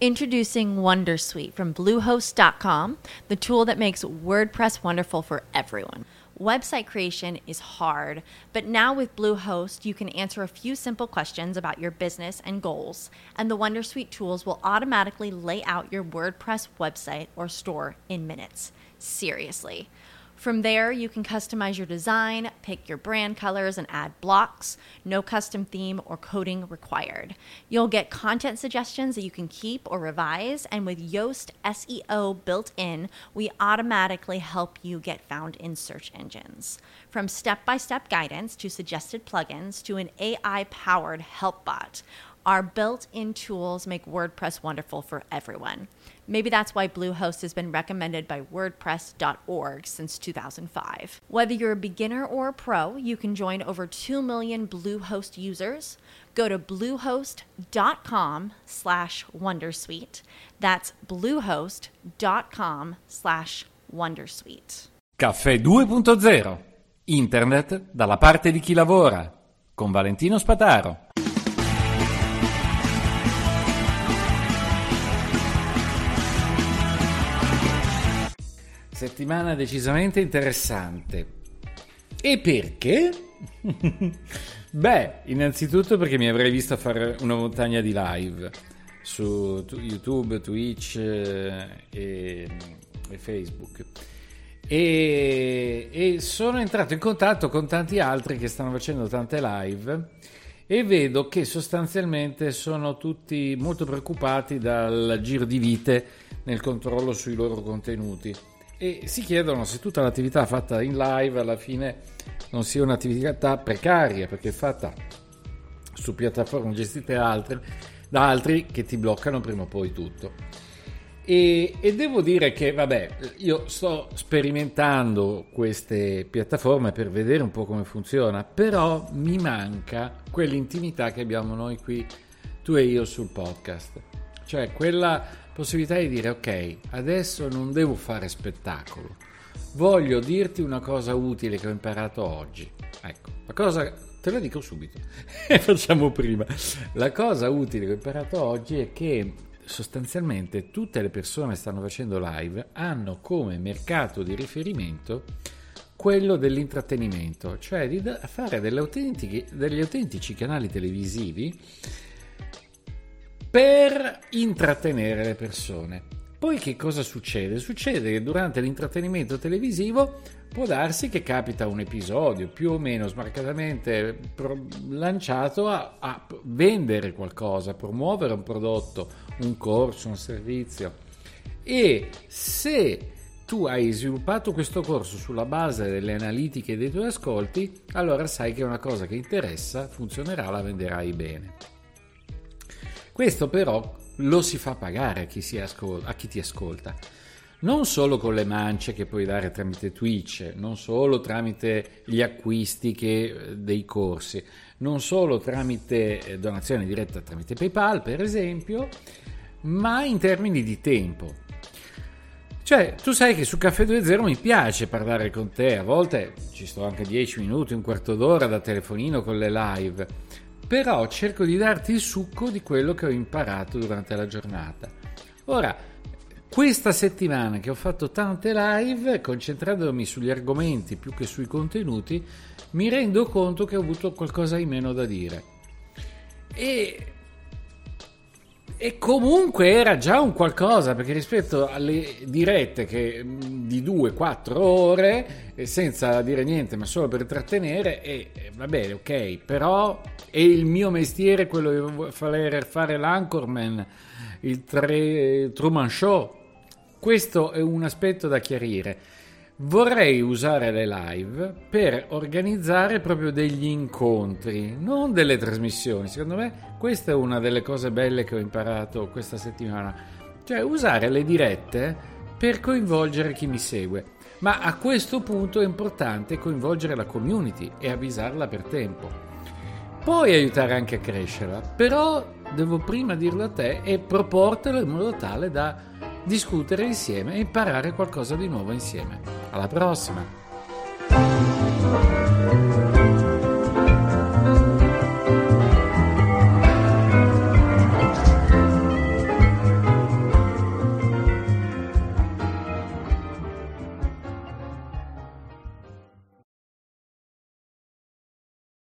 Introducing Wondersuite from Bluehost.com, the tool that makes WordPress wonderful for everyone. Website creation is hard, but now with Bluehost, you can answer a few simple questions about your business and goals, and the Wondersuite tools will automatically lay out your WordPress website or store in minutes. Seriously. From there, you can customize your design, pick your brand colors, and add blocks. No custom theme or coding required. You'll get content suggestions that you can keep or revise, and with Yoast SEO built in, we automatically help you get found in search engines. From step-by-step guidance to suggested plugins to an AI-powered help bot, our built-in tools make WordPress wonderful for everyone. Maybe that's why Bluehost has been recommended by WordPress.org since 2005. Whether you're a beginner or a pro, you can join over 2 million Bluehost users. Go to bluehost.com/wondersuite. That's bluehost.com/wondersuite. Caffè 2.0. Internet dalla parte di chi lavora. Con Valentino Spataro. Settimana decisamente interessante. E perché? Beh, innanzitutto perché mi avrei visto fare una montagna di live su YouTube, Twitch e Facebook. E sono entrato in contatto con tanti altri che stanno facendo tante live e vedo che sostanzialmente sono tutti molto preoccupati dal giro di vite nel controllo sui loro contenuti. E si chiedono se tutta l'attività fatta in live alla fine non sia un'attività precaria, perché è fatta su piattaforme gestite da altri che ti bloccano prima o poi tutto. E devo dire che io sto sperimentando queste piattaforme per vedere un po' come funziona, però mi manca quell'intimità che abbiamo noi qui, tu e io, sul podcast, cioè quella possibilità di dire ok, adesso non devo fare spettacolo, voglio dirti una cosa utile che ho imparato oggi. Ecco, la cosa, te la dico subito e facciamo prima. La cosa utile che ho imparato oggi è che sostanzialmente tutte le persone che stanno facendo live hanno come mercato di riferimento quello dell'intrattenimento, cioè di fare degli autentici canali televisivi per intrattenere le persone. Poi che cosa succede? Succede che durante l'intrattenimento televisivo può darsi che capita un episodio più o meno smarcatamente lanciato a vendere qualcosa, a promuovere un prodotto, un corso, un servizio. E se tu hai sviluppato questo corso sulla base delle analitiche dei tuoi ascolti, allora sai che è una cosa che interessa, funzionerà, la venderai bene. Questo però lo si fa pagare a chi ti ascolta, non solo con le mance che puoi dare tramite Twitch, non solo tramite gli acquisti dei corsi, non solo tramite donazione diretta tramite PayPal per esempio, ma in termini di tempo. Cioè, tu sai che su Caffè 2.0 mi piace parlare con te, a volte ci sto anche 10 minuti, un quarto d'ora da telefonino con le live, però cerco di darti il succo di quello che ho imparato durante la giornata. Ora, questa settimana che ho fatto tante live, concentrandomi sugli argomenti più che sui contenuti, mi rendo conto che ho avuto qualcosa in meno da dire. E comunque era già un qualcosa, perché rispetto alle dirette di 2-4 ore, senza dire niente ma solo per intrattenere, va bene, ok, però è il mio mestiere quello di fare l'anchorman, il Truman Show. Questo è un aspetto da chiarire. Vorrei usare le live per organizzare proprio degli incontri, non delle trasmissioni. Secondo me questa è una delle cose belle che ho imparato questa settimana, cioè usare le dirette per coinvolgere chi mi segue. Ma a questo punto è importante coinvolgere la community e avvisarla per tempo. Puoi aiutare anche a crescerla, però devo prima dirlo a te e proportelo in modo tale da discutere insieme e imparare qualcosa di nuovo insieme. Alla prossima!